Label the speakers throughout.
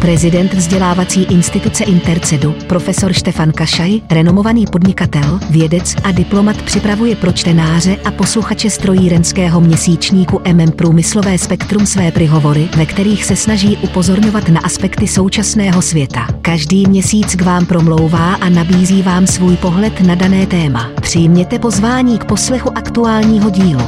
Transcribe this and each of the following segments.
Speaker 1: Prezident vzdělávací instituce Intercedu, profesor Štefan Kašaj, renomovaný podnikatel, vědec a diplomat, připravuje pro čtenáře a posluchače strojírenského měsíčníku Průmyslové spektrum své prihovory, ve kterých se snaží upozorňovat na aspekty současného světa. Každý měsíc k vám promlouvá a nabízí vám svůj pohled na dané téma. Přijměte pozvání k poslechu aktuálního dílu.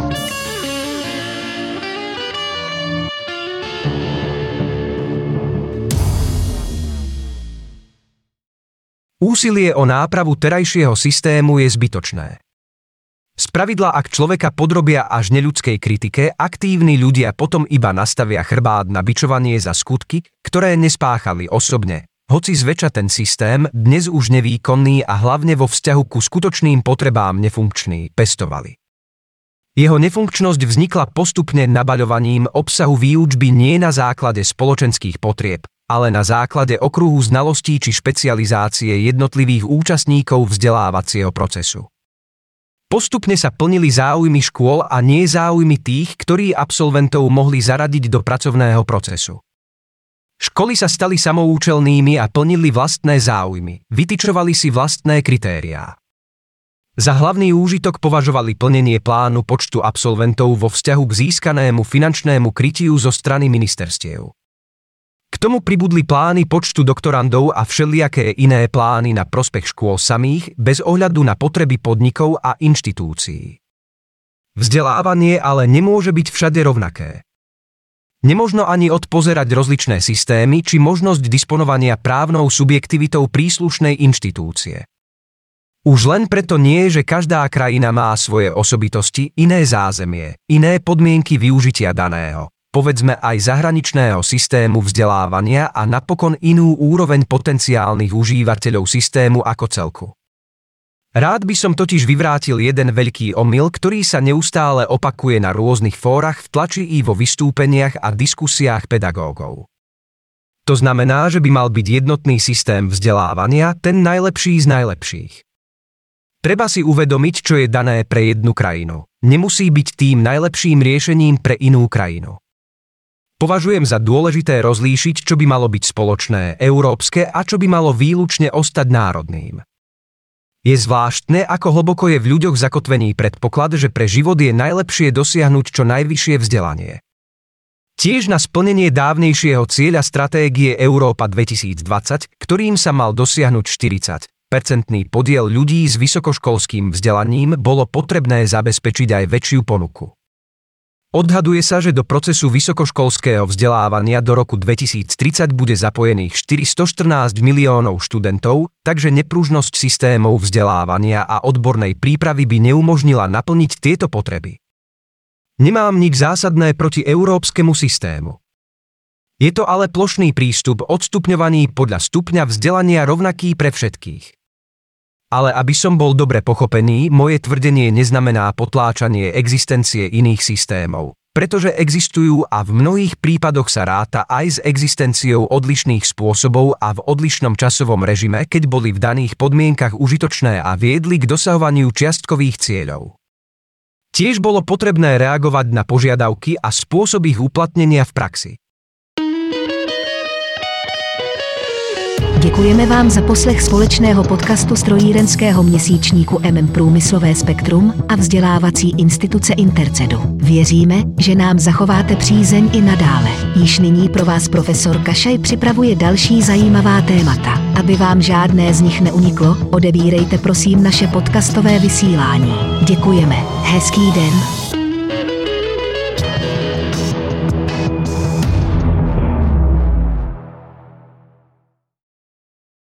Speaker 2: Úsilie o nápravu terajšieho systému je zbytočné. Spravidla, ak človeka podrobia až neľudskej kritike, aktívni ľudia potom iba nastavia chrbát na bičovanie za skutky, ktoré nespáchali osobne, hoci zväčša ten systém, dnes už nevýkonný a hlavne vo vzťahu ku skutočným potrebám nefunkčný, pestovali. Jeho nefunkčnosť vznikla postupne nabaľovaním obsahu výučby nie na základe spoločenských potrieb, ale na základe okruhu znalostí či špecializácie jednotlivých účastníkov vzdelávacieho procesu. Postupne sa plnili záujmy škôl a nie záujmy tých, ktorí absolventov mohli zaradiť do pracovného procesu. Školy sa stali samoučelnými a plnili vlastné záujmy, vytyčovali si vlastné kritériá. Za hlavný úžitok považovali plnenie plánu počtu absolventov vo vzťahu k získanému finančnému krytiu zo strany ministerstiev. K tomu pribudli plány počtu doktorandov a všelijaké iné plány na prospech škôl samých, bez ohľadu na potreby podnikov a inštitúcií. Vzdelávanie ale nemôže byť všade rovnaké. Nemožno ani odpozerať rozličné systémy či možnosť disponovania právnou subjektivitou príslušnej inštitúcie. Už len preto nie, že každá krajina má svoje osobitosti, iné zázemie, iné podmienky využitia daného, povedzme aj zahraničného systému vzdelávania a napokon inú úroveň potenciálnych užívateľov systému ako celku. Rád by som totiž vyvrátil jeden veľký omyl, ktorý sa neustále opakuje na rôznych fórach v tlači i vo vystúpeniach a diskusiách pedagógov. To znamená, že by mal byť jednotný systém vzdelávania, ten najlepší z najlepších. Treba si uvedomiť, čo je dané pre jednu krajinu. Nemusí byť tým najlepším riešením pre inú krajinu. Považujem za dôležité rozlíšiť, čo by malo byť spoločné, európske a čo by malo výlučne ostať národným. Je zvláštne, ako hlboko je v ľuďoch zakotvený predpoklad, že pre život je najlepšie dosiahnuť čo najvyššie vzdelanie. Tiež na splnenie dávnejšieho cieľa stratégie Európa 2020, ktorým sa mal dosiahnuť 40% podiel ľudí s vysokoškolským vzdelaním, bolo potrebné zabezpečiť aj väčšiu ponuku. Odhaduje sa, že do procesu vysokoškolského vzdelávania do roku 2030 bude zapojených 414 miliónov študentov, takže nepružnosť systémov vzdelávania a odbornej prípravy by neumožnila naplniť tieto potreby. Nemám nič zásadné proti európskemu systému. Je to ale plošný prístup odstupňovaný podľa stupňa vzdelania rovnaký pre všetkých. Ale aby som bol dobre pochopený, moje tvrdenie neznamená potláčanie existencie iných systémov, pretože existujú a v mnohých prípadoch sa ráta aj s existenciou odlišných spôsobov a v odlišnom časovom režime, keď boli v daných podmienkach užitočné a viedli k dosahovaniu čiastkových cieľov. Tiež bolo potrebné reagovať na požiadavky a spôsob ich uplatnenia v praxi.
Speaker 1: Děkujeme vám za poslech společného podcastu strojírenského měsíčníku Průmyslové spektrum a vzdělávací instituce Intercedu. Věříme, že nám zachováte přízeň i nadále. Již nyní pro vás profesor Kašaj připravuje další zajímavá témata. Aby vám žádné z nich neuniklo, odebírejte prosím naše podcastové vysílání. Děkujeme. Hezký den.